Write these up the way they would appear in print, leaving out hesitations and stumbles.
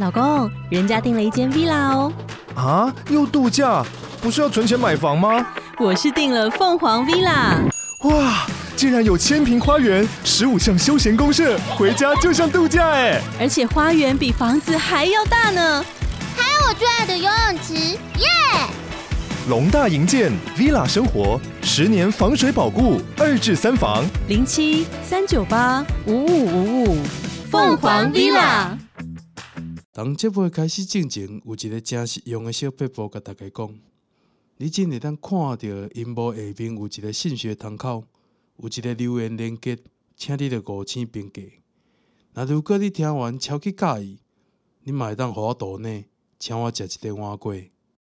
老公，人家訂了一間 villa 哦。 啊，又度假？不是要存錢買房嗎？ 我是訂了鳳凰 villa。 哇，竟然有1000坪花園，15項休閒公設，回家就像度假哎！ 而且花園比房子還要大呢。 還有我最愛的游泳池，耶！ 龍大營建 Villa 生活，10年防水保固，2至3房 07-398-5555，鳳凰 Villa。 當節目開始進前，有一個真實用的小撇步，甲大家講，你真會當看到螢幕下面有一個信息窗口，有一個留言連結，請你著5星評價。那如果你聽完超級介意，你嘛會當給我抖內，請我食一頓碗粿。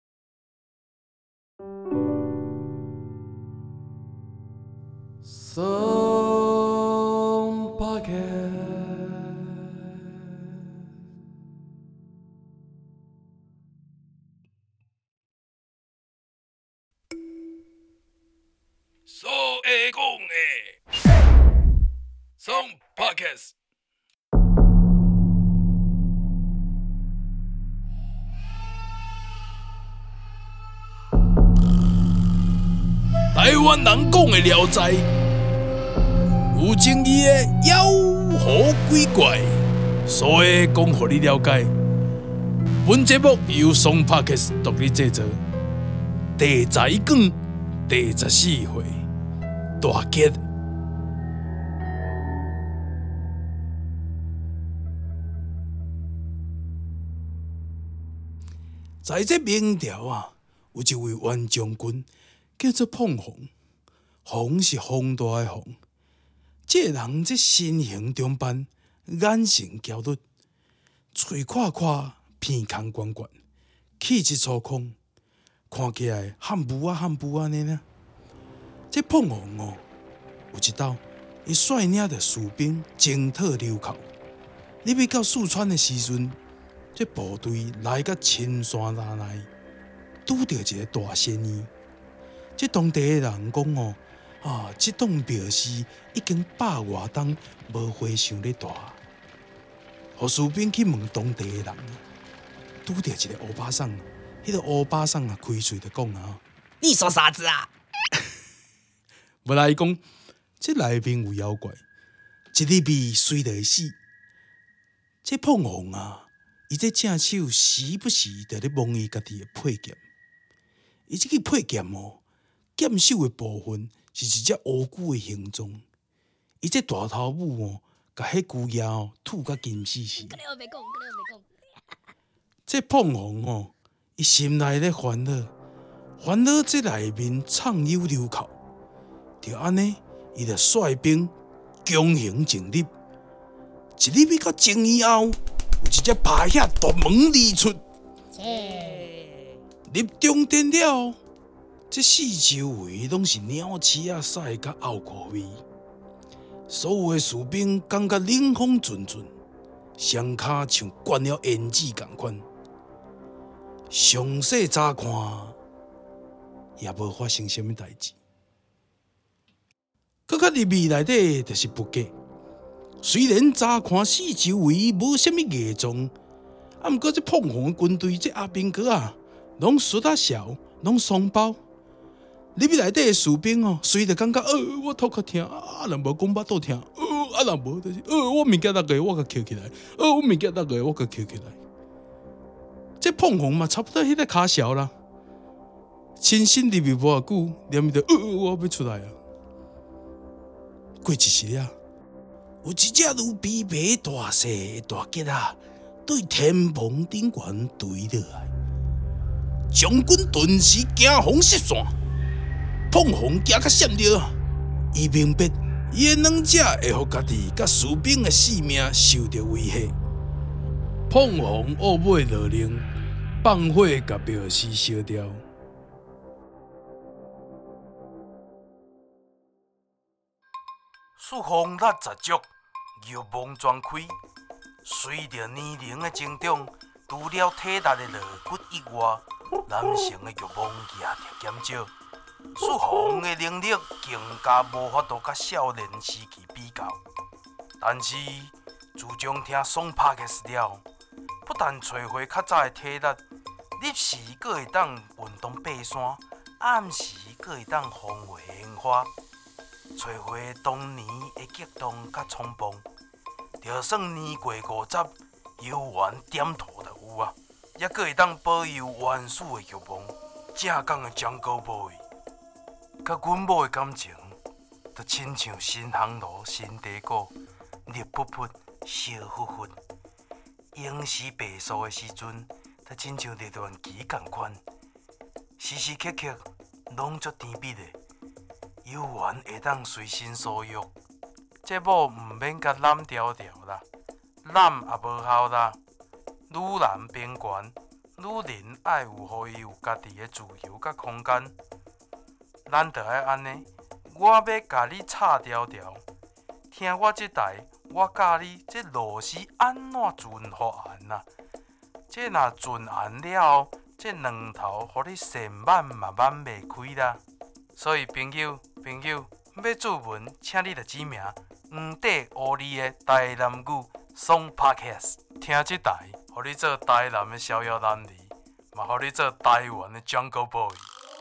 所會講的，Song Podcast。台灣人講的《聊齋》，有爭議的妖狐鬼怪，所會講互你了解。本節目由 Song Podcast 獨立製作，第12卷第14回。大吉！在這明朝啊，有一位元將軍叫做鳳凰，凰是宏大的凰。這個人這身形中斑，眼神嬌綠，嘴闊闊，鼻孔圓圓，氣質粗獷，看起來漢武安尼呢。這鳳凰哦，有一道，伊率領着士兵征討流寇。你要到四川的時陣，這部隊來到青山那內，拄到一個大仙醫。這當地的人講哦，這棟廟寺已經100多冬無和尚咧大。互士兵去問當地的人，拄到一個歐巴桑，迄個歐巴桑啊，開嘴就講啊， 你說啥子啊？ 無來講，這內面有妖怪，一入味隨就會死。這鳳凰啊，伊這正手時不時就咧摸伊家己的佩劍。伊這個佩劍哦，劍手的部分是一隻烏龜的形狀。伊這大頭母哦，甲迄龜仔哦吐甲金死死。這鳳凰哦，伊心內咧煩惱這內面藏有流寇。就安尼，伊就率兵強行進入，一入去到前以後，有一隻白蟻大門而出，入中殿了，這四周圍攏是鳥鼠啊、屎甲奧苦味，所有的士兵感覺冷風陣陣，雙腳像灌了胭脂同款，詳細查看也無發生什麼代誌。閣較入味內底就是不假，雖然乍看四周圍無啥物異狀，毋過這鳳凰的軍隊這阿兵哥啊，攏術仔潲，攏雙胞。入味內底的士兵哦，隨着感覺我頭殼痛，若無講巴肚痛，若無就是我物件那個我甲撿起來，我物件那個我甲撿起來。這鳳凰嘛，差不多迄個跤潲啦，親身入味無偌久，連伊就我要出來啊。過一時啊，有一隻如比馬大細的大吉啊，對天蓬頂懸墜落來，將軍頓時驚慌失散，鳳凰驚甲閃着，伊明白伊的兩者會互家己甲士兵的性命受到威脅。鳳凰惡尾落令，放火甲廟寺燒掉。四方六十足，玉網全開。隨着年齡的增長，除了體力的肋骨以外，男性的欲望也在減少。四方的能力更加無法度甲少年時期比較。但是自從聽 Song Podcast 了， 不但找回較早的體力，日時閣會當運動爬山，暗時閣會當風花煙花，找回當年的激動甲衝動。就算年過50，猶原點頭就有啊，也閣會當保有原始的欲望。正港的江高 boy， 甲阮某的感情，就親像新航路新地果，熱噗噗，燒乎乎。英時白素的時陣，就親像熱戀期共款，時時刻刻攏足甜蜜的，猶原會當隨心所欲。這某毋免甲攬條條啦，攬也無效啦。女人邊緣。女人愛有，互伊有家己的自由甲空間，咱着愛安尼。我要甲你插條條，聽我這台，我教你這螺絲安怎存互按啊？這若存按了後，這兩頭互你線挽嘛挽袂開啦。所以朋友，要注文，請你着指名黃帝烏里的台南語爽 Podcast， 聽這台。互你做台南的逍遙男兒，嘛互你做台灣的 Jungle Boy。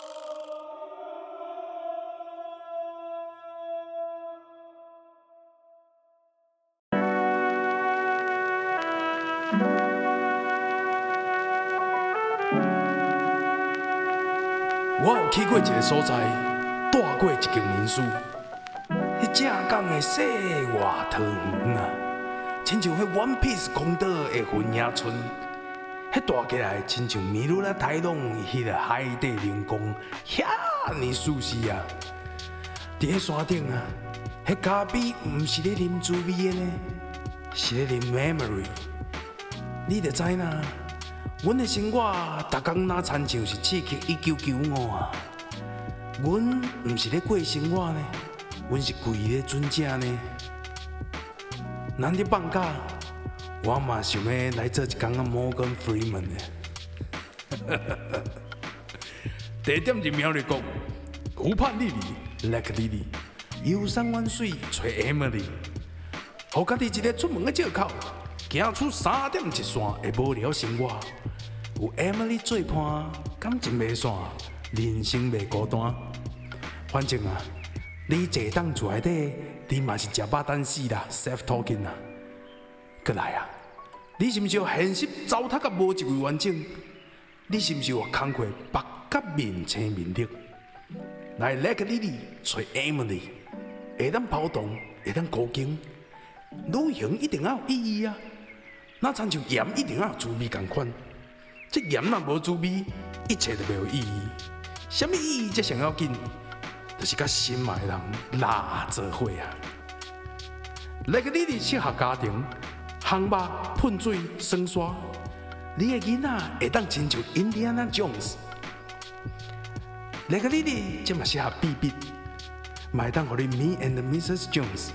我有去過一個所在，住過一間民宿，迄正港的世外桃源啊！親像迄 One Piece 公島的雲野村，迄住起來親像米魯拉台東迄個海底靈宮，遐尼舒適啊！佇迄山頂啊，迄咖啡毋是咧啉滋味的呢，是咧啉 memory。你著知影，阮的生活逐工若親像是刺激1995啊！阮毋是咧過生活呢，阮是跪咧准正呢。咱咧放假，我嘛想要來做一工啊 Morgan Freeman 的。第一點是苗栗國，湖畔麗麗 Lake Lily， 遊山玩水找 Emily， 互家己一個出門的借口，行出3點一線的無聊生活。有 Emily 做伴，感情袂散，人生袂孤單。反正啊，你坐當厝內底。你嘛是食飽等死啦 ，self talking 啊！過來啊，你是毋是有現實糟蹋甲無一位完整？你是毋是有工課目甲面青面綠？來 Lake Lily 找 Emily， 會當跑動，會當高經，旅行一定要有意義啊！那親像鹽一定要有滋味同款，這鹽若無滋味，一切都袂有意義。什麼意義才上要緊？就是甲心愛的人拉做伙啊！Lake Lily 適合家庭，烘肉、噴水、耍沙，你的囡仔會當親像 Indiana Jones。Lake Lily 這嘛適合避避，嘛會當互你 Me and Mrs. Jones。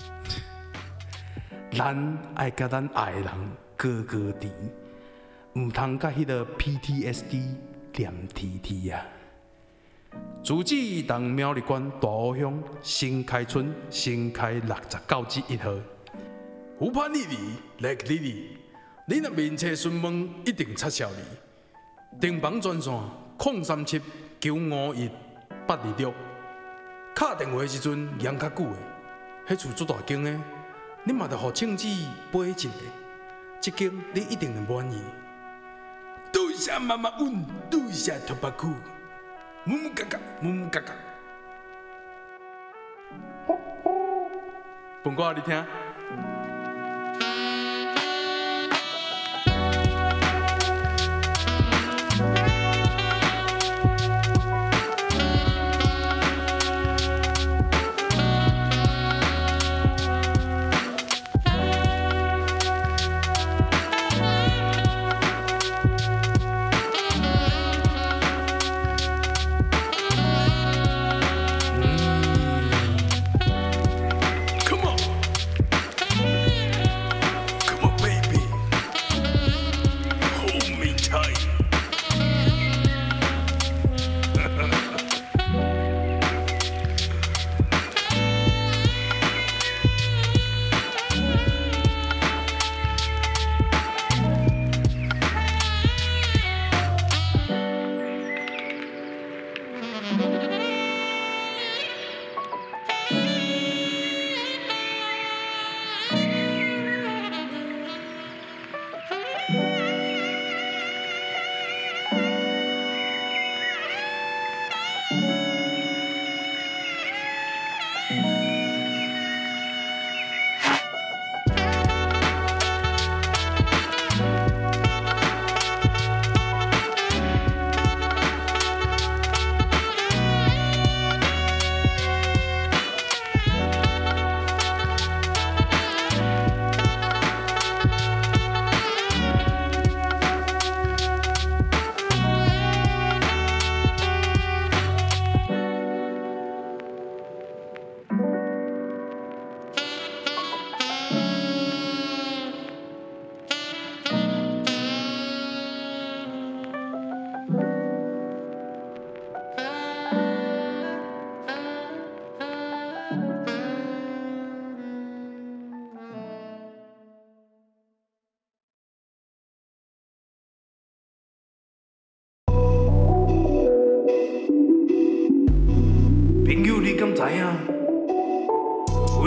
咱愛甲咱愛的人高高甜，毋通甲迄個 PTSD 黏貼貼啊！自治當苗栗縣大湖鄉新開村新開69之1號，湖畔麗麗 Lake Lily， 你若面車詢問一定插銷你。訂房專線037-951-826，敲電話的時陣延較久的，迄厝足大間的，你嘛着互慶子買一個，這間你一定會滿意。多謝媽媽阮，多謝托巴庫。木木嘎嘎，木木嘎嘎，本歌你聽。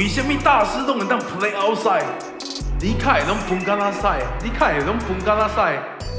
為什麼大師攏會當 play outside？ 你卡會攏分干哪賽？你卡會攏分干哪賽？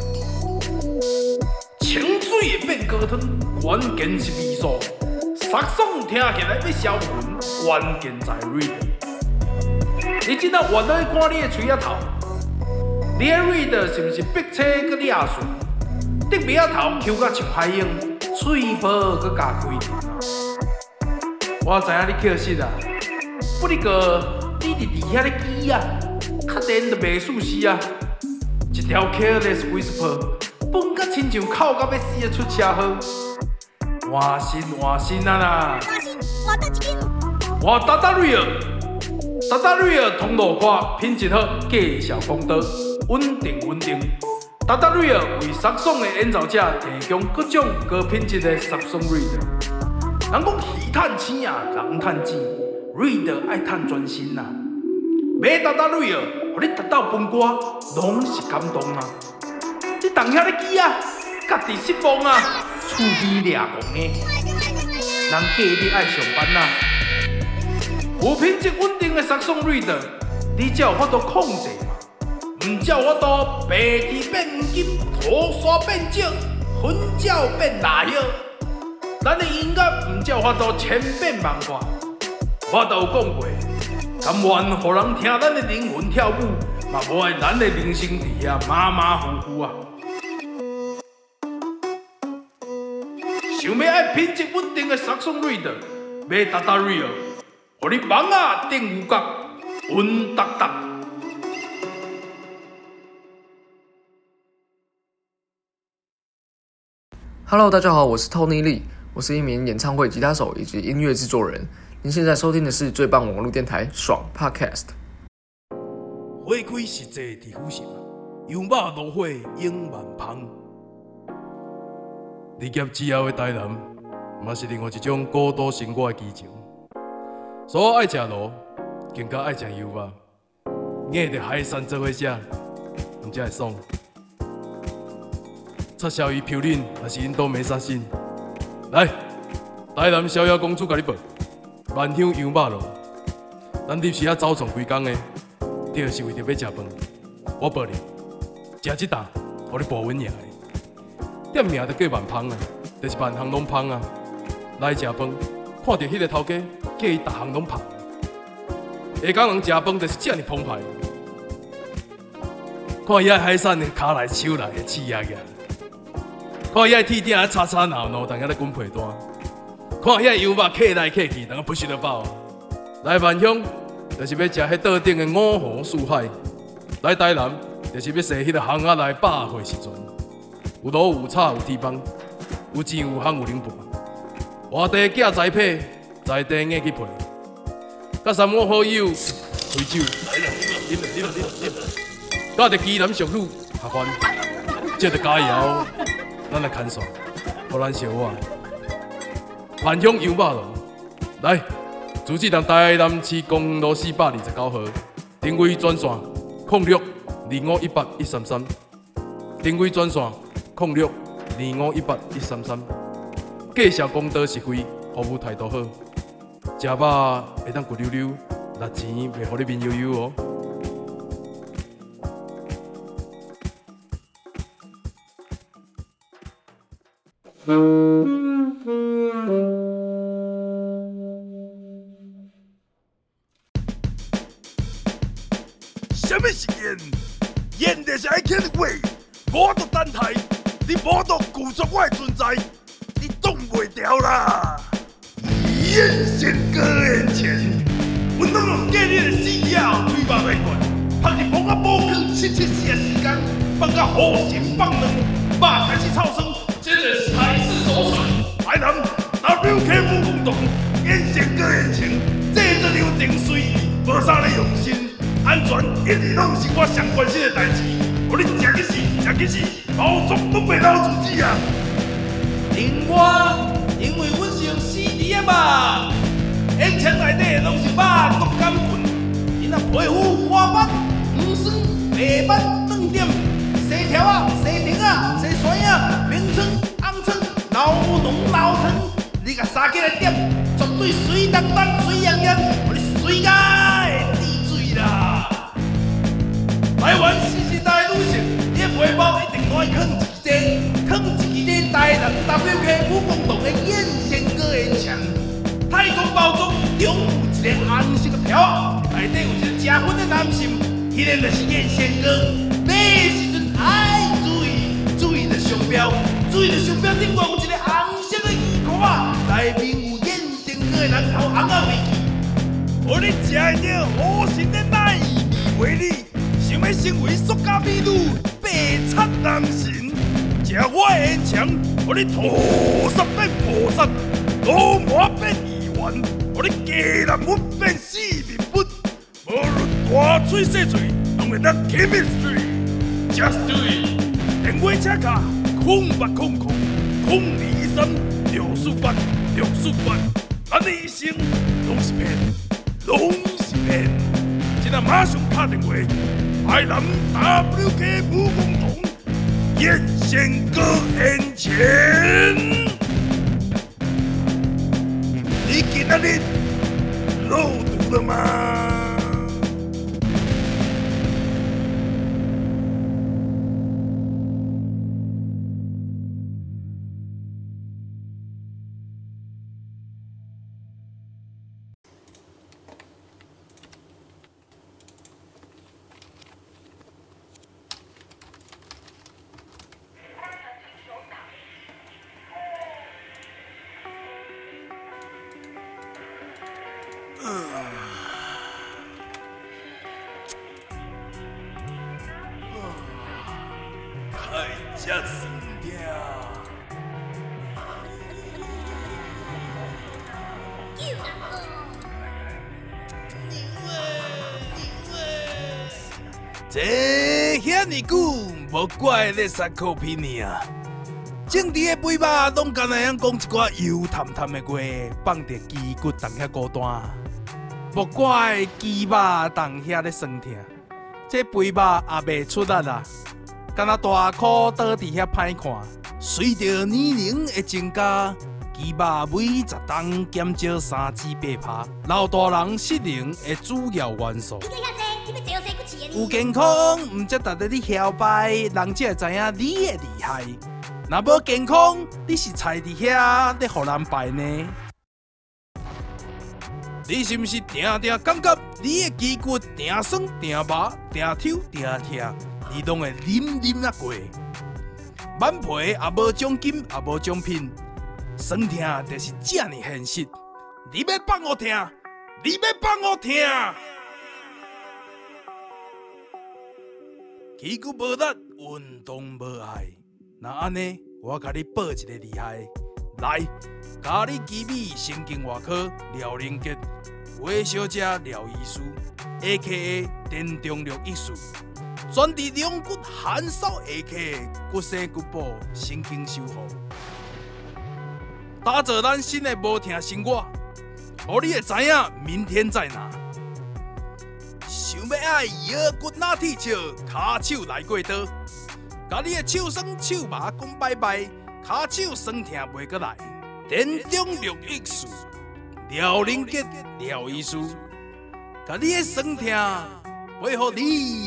清水會變高湯，關鍵是味素。殺爽聽起來要銷魂，關鍵在 read。你真正原來看你的嘴仔頭，你的 read 是毋是逼車佮裂碎？得尾仔頭摳甲像海鷹，嘴巴佮加開點。我知影你扣實啊，不過你佇遐咧記啊，確定就袂輸死啊！一條 careless whisper， 本甲親像哭到要死的出車禍。換心啊啦！ 換得緊！ 換Tata Real，Tata Real 通路寬，品質好，繼續公道，穩定。Tata Real 為殺爽的演奏者提供各種高品質的殺爽 Read。人講魚趁錢啊，人趁錢 ，Read 愛趁專心啊。買Tata Real，互你達到分歌，攏是感動啊！你當遐咧記啊，家己失望啊！厝邊掠狂的，人假日愛上班啊！有品質穩定的殺爽 read， 你才有法度控制嘛，唔才有法度白氣變黃金，土沙變石，粉鳥變蠟葉。咱的音樂唔才有法度千變萬化。我都有講過，甘願互人聽咱的靈魂跳舞，嘛無愛咱的人生佇遐馬馬虎虎啊！想要愛品質穩定的殺爽 read， 買Tata Real， 互你網仔頂有角，穩當當。 Hello， 大家好，我是 Tony Lee， 我是一名演唱會吉他手以及音樂製作人。您現在收聽的是最棒網絡電台爽 Podcast。 花開實際地府城，油馬路火永萬芳。離業之後的台南，嘛是另外一種孤獨生活的激情。所以愛食路，更加愛食油肉，硬着海產做伙食，毋才會爽。插銷魚飄冷，還是印度梅沙辛。來，台南逍遙公主甲你報，萬香油肉路，咱入時啊走撞規工的，就是為着要食飯。我報你，食一啖，互你補穩贏的。店名就叫萬芳啊，就是萬項攏芳啊。來食飯，看到迄個頭家，叫伊逐項攏芳。下港人食飯就是這麼澎湃，看伊遐海產的骹來手來的刺壓壓，看伊遐鐵鼎吵吵鬧鬧，當遐咧滾皮蛋，看伊遐油肉客來客去，當個不食得飽。來萬香，就是要食迄島頂的五湖四海；來台南，就是要踅迄個巷仔內百歲時陣。有路有草有鐵棒，有錢有行有零半，外地寄栽培，在地硬去配。甲三五好友開酒，啉，甲着基南俗女合歡，接着加油，咱來牽線，互咱小我。萬香油肉路，來，主持人台南市公路429號，定位專線0625181133，定位專線。0625181133，介紹公道實惠，服務態度好，食飽會當骨溜溜，力錢袂互你面悠悠哦。 什麼是演？演就是愛聽話，我都等待。你無都拒絕我的存在，你擋袂掉啦！眼神哥眼前，阮攏用假日的死野推肉來灌，拍日摸啊摸光774的時間，放甲好心放卵，肉開始臭酸，這個才是首選。台南 WKF 運動，眼神哥眼前，製作流程隨意，無啥咧用心，安全一直攏是我上關心的代誌。我你食去死，包裝都袂撈自己啊！另外，因為阮是用CDM啊，演唱內底攏是肉毒桿菌，因若皮膚乾斑、黃酸、白斑、斷點、細條啊、細頂啊、細酸啊、冰川、紅川、老濃老疼，你甲三起來點，絕對水當當、水焱焱，我你水甲的滴水啦！台灣時代女性，你的背包一定愛扛一個台人 WK 武工黨的燕仙哥煙槍，太空包裝中有一個紅色的條，內底有一個吃粉的男性，迄個就是燕仙哥。買的時陣愛注意着商標，注意着商標頂面有一個紅色的魚塊，內面有燕仙哥的人頭紅啊味氣。我你食會着好神的奶味味，想要成為塑膠美女，白擦人神。食我的煙槍，我你屠殺變菩薩，羅馬變議員，我你雞蛋粉變四面粉，無論大嘴細嘴，攏會當 chemistry。Just do it！ 電話車卡0800-023-648，咱的一生攏是騙，攏是騙。現在馬上打電話，台南 WK 武工黨燕仙哥煙槍，你今仔日漏毒了嗎？太真酸了。这遐尼久，无怪咧三口皮尔。政治的尾巴拢干那样講一寡油淡淡的話，放佇雞骨當遐孤單。無怪雞肉當遐咧酸痛，這肥肉也袂出力啦。敢若大箍倒佇遐歹看，隨着年齡的增加，雞肉每10噸減少3至8趴，老大人失能的主要元素。有健康，唔則值得你囂擺，人才會知影你的厲害。若無健康，你是菜佇遐咧互人敗呢？你是毋是定定感覺你的肌骨定酸定麻定抽定痛？你攏會啉啊過，滿皮也無獎金也無獎品，酸痛就是這麼現實。你要放我痛，你要放我痛。肌骨無力，運動無愛，那安尼我甲你報一個厲害，來，咖喱雞米神經外科廖靈傑，微小姐廖醫師 ，A.K.A. 電中療醫師。專治兩骨寒燒，A.K.A. 骨生骨補神經修復，打造咱新的無痛生活，互你會知影明天在哪。想要愛腰骨哪鐵笑，骹手來過刀，甲你的手酸手麻講拜拜，骹手酸痛袂過來。電中療醫師廖靈傑廖醫師，甲你的酸痛陪互你。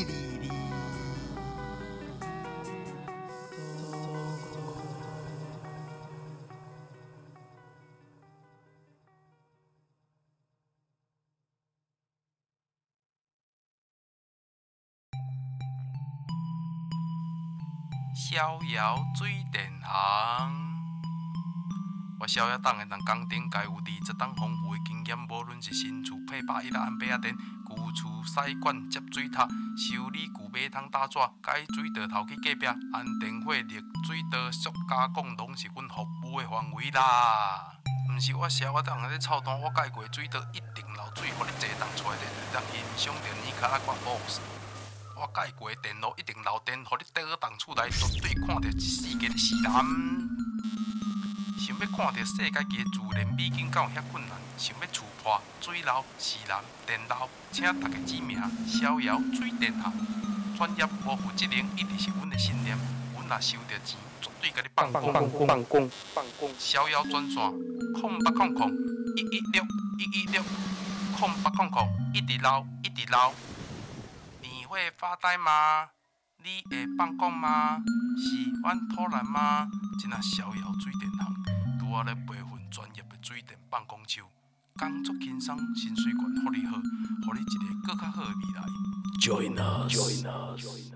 逍遙水電行，我逍遙黨的人工頂該有20檔豐富的經驗，無論是新厝配8一安白電、舊厝洗管接水塔、修理舊馬桶打紙、改水道頭去隔壁、安電火、熱水道、塑加工，攏是阮服務的範圍啦。毋是我逍遙黨咧操蛋，我改過水道一定流水，互你坐當出來就欣賞着尼卡拉掛 boss。我改過電路一定漏電，互你倒檔厝內絕對看到世界的是藍。想要看到世界嘅自然美景，敢有遐困難？想要厝破、水漏、是藍、電漏，請大家指名逍遙水電行。專業無負責任，一直是阮的信念。阮若收着錢，絕對甲你放工。逍遙專線：0800-116-116 0800一直撈一直撈。你會發呆嗎？你會放空嗎？喜歡偷懶嗎？這那逍遙水電行，拄仔咧培訓專業的水電放空手，工作輕鬆，薪水懸，福利好，互你一個更較好的未來。Join us。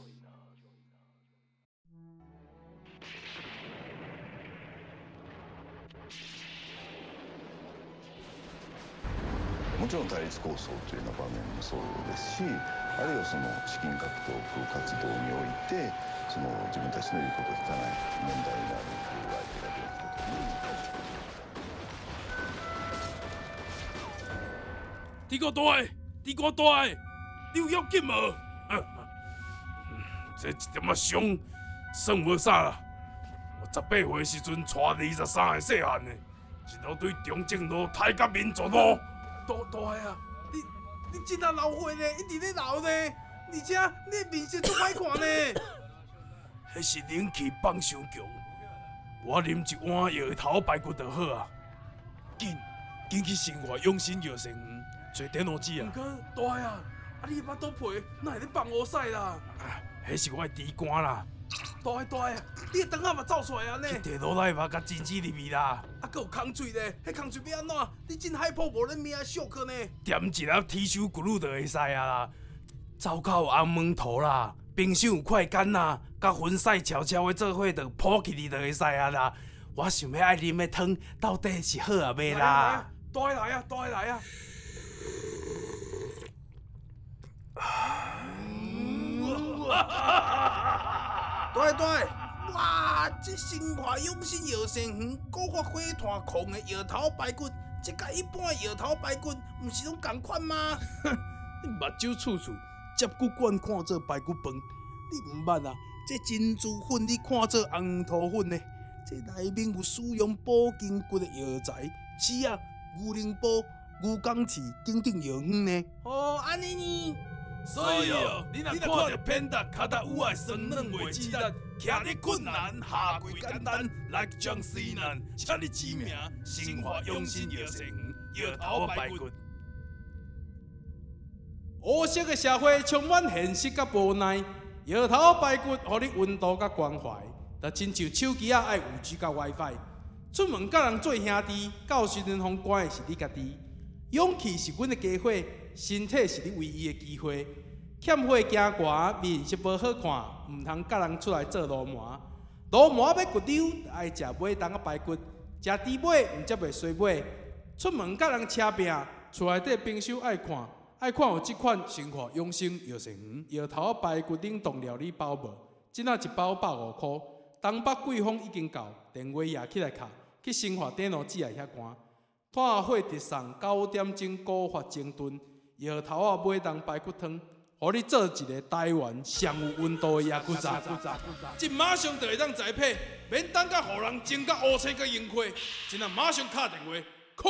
もちろん対立構想というような場面もそうですし、あるいはその資金獲得活動においてその自分たちの言うことを聞かない問題になる相手が出てくるという。 你個大，你個大，你有要緊無？這一點仔傷，算無啥啦。我18歲時陣帶23個細漢的，一路對中正路抬到民族路。大啊！你真啊老歲呢，一直咧老呢，而且你的面色足歹看呢。迄是冷氣放傷強，我啉一碗藥頭排骨就好啊。緊去生活養生藥膳園找電腦機啊。毋過大啊，你巴肚皮哪會咧放烏屎啦？迄是我的豬肝啦。大啊，你的腸仔嘛走出來啊呢？去摕落來嘛，甲針子入去啦。啊，閣有空喙咧，迄空喙要安怎？你真害怕無咧命俗去呢？點一粒鐵鏽骨乳就會使啊啦。走口紅門塗啦，冰箱有快乾啦，甲粉絲悄悄的做伙就鋪起哩就會使啊啦。我想要愛啉的湯到底是好啊袂啦？大來啊！對，哇！這生活養生藥膳園高發火炭控的藥頭排骨，這甲一般的藥頭排骨，毋是攏同款嗎？你目睭處處接骨管看做排骨飯，你毋捌啊？這珍珠粉你看做紅豆粉呢？這內面有使用補筋骨的藥材，刺啊、牛苓煲、牛肝刺等等藥丸呢。哦，安尼呢？所以哦，你若看到偏搭腳踏有愛酸軟話雞蛋，徛你困難，下跪簡單，來將西南，請你指名，生活養生藥膳園，藥頭排骨。烏色的社會充滿現實甲無奈，藥頭排骨，互你溫度甲關懷，就親像手機啊愛有 G 甲 WiFi， 出門甲人做兄弟，到時陣封關的是你家己，勇氣是阮的家伙。身體是你唯一的機會，欠火行寒，面色無好看，毋通甲人出來做流麻。流麻要骨溜，愛食尾冬啊排骨，食豬尾毋則袂衰尾。出門甲人車拼，厝內底冰箱愛看有即款生活養生藥膳園，藥頭排骨冷凍料理包無？即仔一包150塊，東北季風已經到，電話也起來卡，去生活電腦機來遐關。炭火直送9點鐘古法整頓。藥頭啊，尾冬排骨湯，互你做一個台灣上有溫度的野骨茶。即馬上就會當栽培，免等甲互人蒸甲烏青甲螢火，真啊馬上敲電話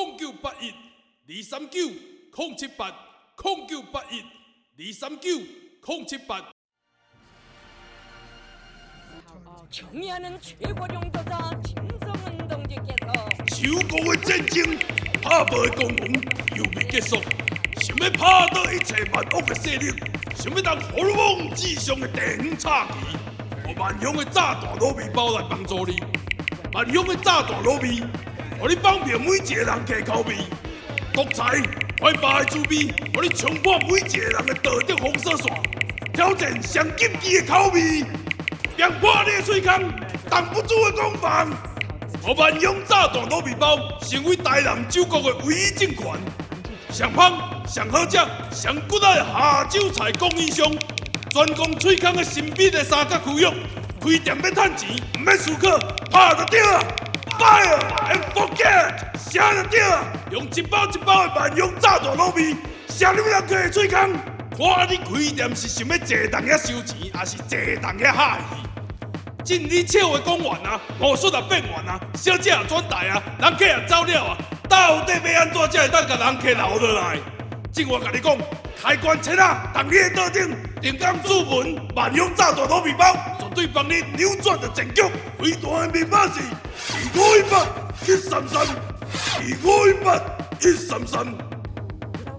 0981-039-078-0981-039-078。 청년은 최고 용도자 김성은 동지께서 지우고의 전쟁 파벌 공공 유비結束。 想要拍倒一切萬惡的勢力，想要當荷爾蒙至上的地方插旗，我萬鄉的炸彈滷味包來幫助你。萬鄉的炸彈滷味，互你方便每一個人客口味。獨裁開發的滋味，互你衝破每一個人的道德封鎖線，挑戰上禁忌的口味，強破你的喙空，擋不住的攻防。我萬鄉炸彈滷味包成為台南酒國的唯一政權。 上香、上好食、上骨仔的下酒菜供應商，專供喙空的神秘的三角區域，開店要賺錢，唔免思考，拍就對啊 ！Fire and forget， 寫就對啊！用一包一包的萬用炸彈滷味，寫你人客的喙空。看你開店是想要坐動遐收錢，還是坐動遐哈戲？真你笑話講完啊，魔術也變完啊，小姐也轉台啊，人客也走了啊。 到底要安怎才會當甲人客留落來？正我甲你講，開關切啊，當你的桌頂定崗注文萬用炸彈滷味包，絕對幫你扭轉的戰局。開單的密碼是2518-133，2518-133。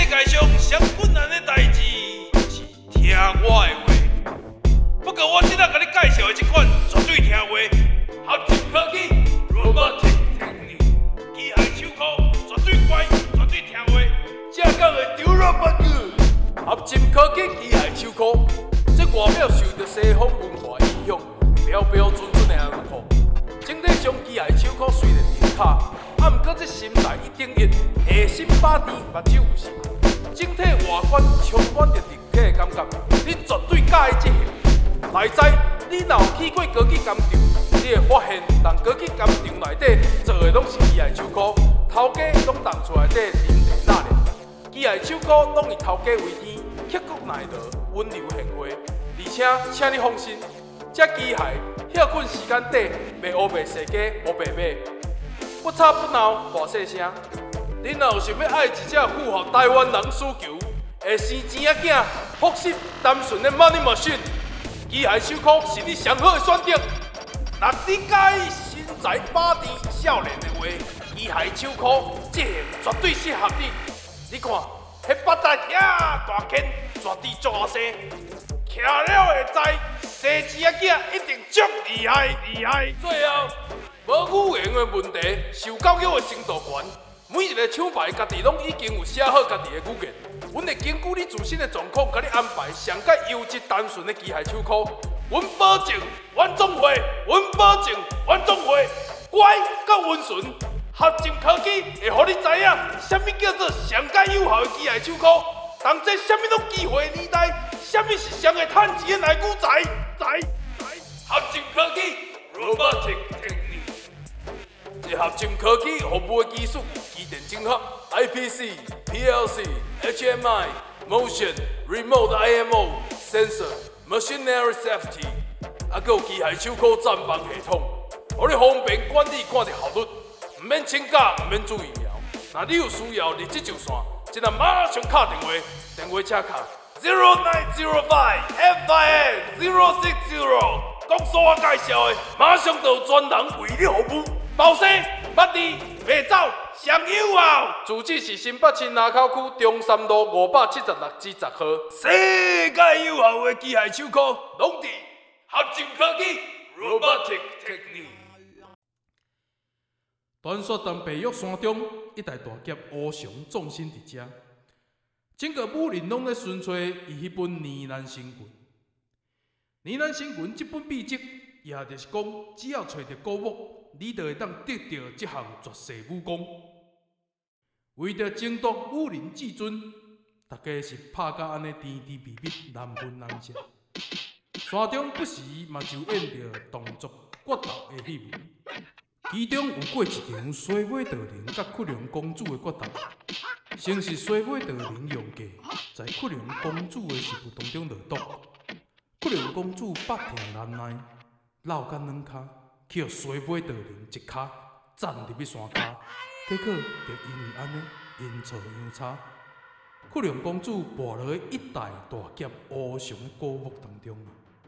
界上上困難的代志是聽我的話。不過我今仔甲你介紹的這款絕對聽話，合成科技 Robotic Technique， 機械手銬絕對乖，絕對聽話。正港的丟了不久，合成科技機械手銬，這外表受到西方文化影響，標標準準的紅褲。整體上機械手銬雖然挺卡，啊毋過這心內一定一，下心把甜，目睭有神。整體外觀充滿着立體的感覺，你絕對喜歡這個。內在你若有去過高級工廠，你會發現，人高級工廠內底做的攏是機械手銬，頭家攏當厝內底臨地納涼。機械手銬攏以頭家為天，刻骨耐勞，溫柔賢惠。而且，請你放心，這機械歇困時間短，袂烏白世家，無白買。不吵不鬧，大細聲。你若有想要愛一隻符合台灣人需求，會生錢仔囝，樸實單純的 money machine， 機械手銬是你上好的選擇。若你介意身材把甜、少年的話，機械手銬這型絕對適合你。你看，迄腹帶遐大顆，絕對足好生，徛了會知，生錢仔囝一定足厲害。最後，無語言的問題，受教育的程度懸。每一個廠牌家己攏已經有寫好家己的語言，阮會根據你自身的狀況，甲你安排上界優質單純的機械手銬。阮保證，阮總會，乖甲溫順，合成科技會互你知影，啥物叫做上界有效的機械手銬。同這啥物攏機會的年代，啥物是上會趁錢的內股仔？合成科技 Robotic Technique。這合成科技服務的技術有機電整合、IPC、PLC、HMI、Motion、Remote IMO、Sensor、Machinery Safety， 還有機械手銬暫放系統，讓你方便管理看到效率，唔免請假，唔免注疫苗。若你有需要，立即就線，即刻馬上敲電話，電話請卡0905 FIN 060，講所我介紹的，馬上就有專人為你服務。包生、捌字、袂走，上有效。住址是新北市林口區中山路576至10號。世界有效的機械手銬，攏佇合成科技 Robotic Technique。傳說當北岳山中一代大俠烏熊葬身佇遮，整個武林攏咧尋找伊迄本《呢喃神拳》。《呢喃神拳》這本秘籍，也就是講，只要找到古物。你就會當得到這項絕世武功。為着爭奪武林至尊，大家是拍甲安尼甜甜蜜蜜，難分難捨。山中不時嘛就演着動作決鬥的戲文，其中有過一場水尾道人甲屈龍公主的決鬥，先是水尾道人用計在屈龍公主的食物當中落毒，屈龍公主百痛難耐，落干兩跤。去互水尾道人一跤斬入去山骹，結果就因為安尼陰錯陽差，屈龍公主墮落一代大俠烏熊的古墓當中。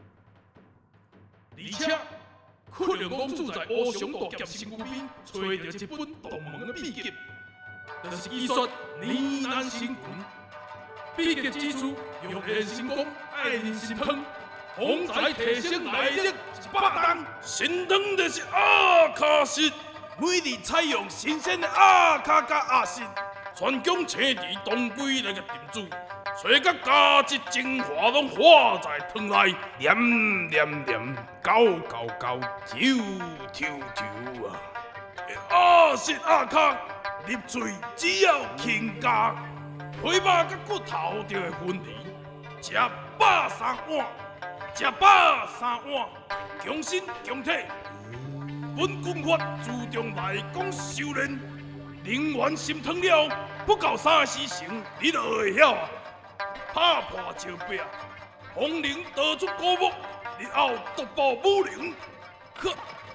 而且，屈龍公主在烏熊大俠身軀邊找到一本獨門的秘籍，就是醫術呢喃神拳。秘籍指出，用練神功愛人心湯。風在提升內力100檔，心湯就是阿卡西，每日採用新鮮的阿卡甲阿信，全疆青魚當歸來個燉煮，水甲加質精華攏化在湯內，黏黏黏，高高高，跳跳跳啊！阿信阿卡入嘴只要輕加，皮肉甲骨頭就會分離，食飽3碗。食飽3碗，強身強體。本軍法注重內功修煉，靈元心湯了，不到3時辰，你就會曉啊！拍破招壁，風靈逃出古墓，日後獨步武林。呵，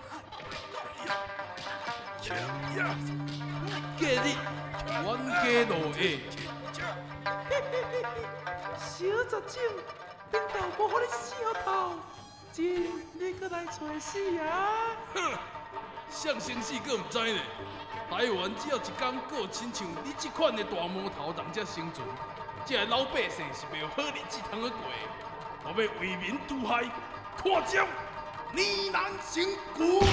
呀，今日冤家路下，小雜種。頂到無互你笑透，真你閣來找死啊！哼， 上生死閣毋知呢。台灣只要一天閣有親像你這款的大魔頭人才生存，這個老百姓是袂有好日子通去過。我要為民除害，看招呢難成功。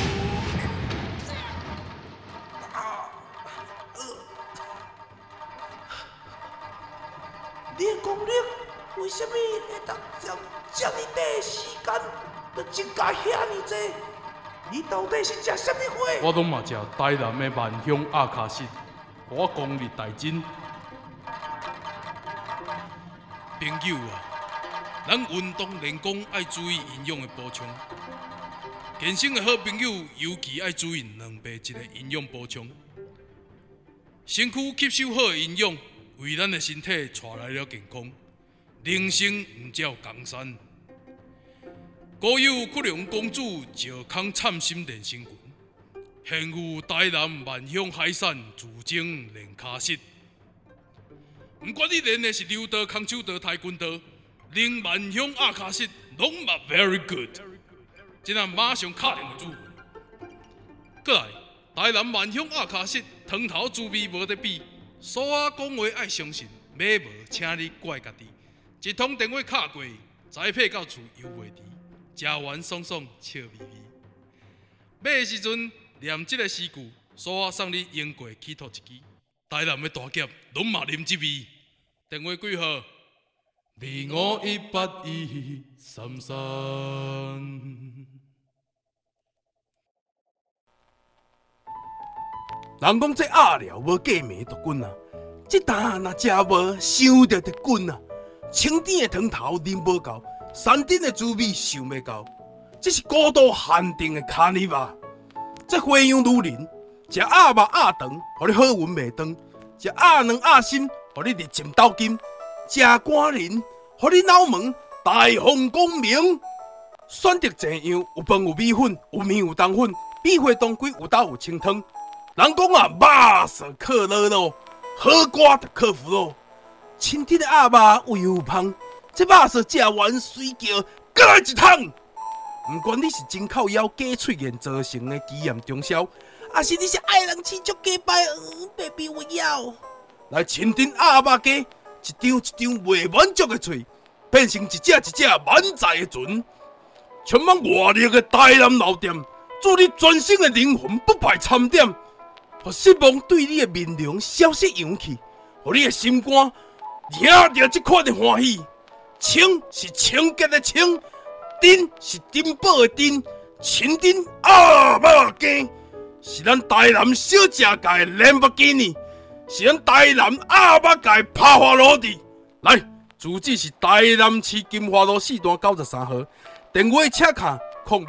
你的功力為什麼會當將這麼短時間就增加遐爾濟？你到底是食什麼花？ 我攏嘛食台南的萬香阿卡西，我功力大增。朋友啊，咱運動練功愛注意營養的補充。健身的好朋友尤其愛注意兩倍一個營養補充，身軀吸收好的營養，為咱的身體帶來了健康。人生毋只有江山。古有屈龍公主石康參心練身裙，現有台南萬香海產自證練卡式。毋管你練的是柔道、空手道、跆拳道，練萬香阿卡式攏嘛 very good。今仔馬上敲電話主文。過來，台南萬香阿卡式湯頭滋味無得比，所有講話愛相信，買無請你怪家己。一通電話敲過，宅配到厝猶袂遲。食完爽爽笑眯眯，買的時陣念這個詩句，所有送你英國起頭一支。台南的大俠攏嘛啉這味。電話幾號？25181333。 人講這鴨寮無過暝就滾啊，這啖若食無，想着就滾啊。清甜的湯頭啉無夠。山頂的滋味想袂到，這是高度限定的卡尼瓦。這花樣女人，食鴨肉鴨腸，互你好運袂斷；食鴨卵鴨心，互你日進斗金；食肝仁，互你腦門大放光明。選擇這樣，有飯有米粉，有麵有冬粉，米花當歸有豆有清湯。人講啊，肉色克樂咯，好瓜就克服咯。清甜的鴨肉有油有香。這肉色食完水叫，再來一桶。不管你是真靠腰假喙炎造成的肌炎中燒，還是你是愛人飼足假擺，baby 我要來清甜鴨肉雞，一張一張未滿足的嘴，變成一隻一隻滿載的船。充滿活力的台南老店，祝你全新的靈魂不敗參點，讓失望對你的面容消失揚起，讓你的心肝惹到這款的歡喜。清是清潔的清，珍是珍寶的珍，清甜鴨肉羹是咱台南小食界的蘭博基尼，是咱台南鴨肉界的帕華羅蒂。來，住址是台南市金華路4段93號，電話請卡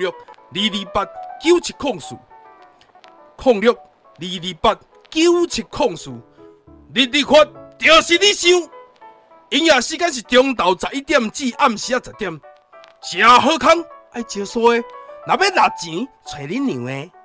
06-228-9704，06-228-9704，日發就是你想。營業時間是中晝11點至暗時10點，食好康愛招數的，若要拿錢找恁娘的。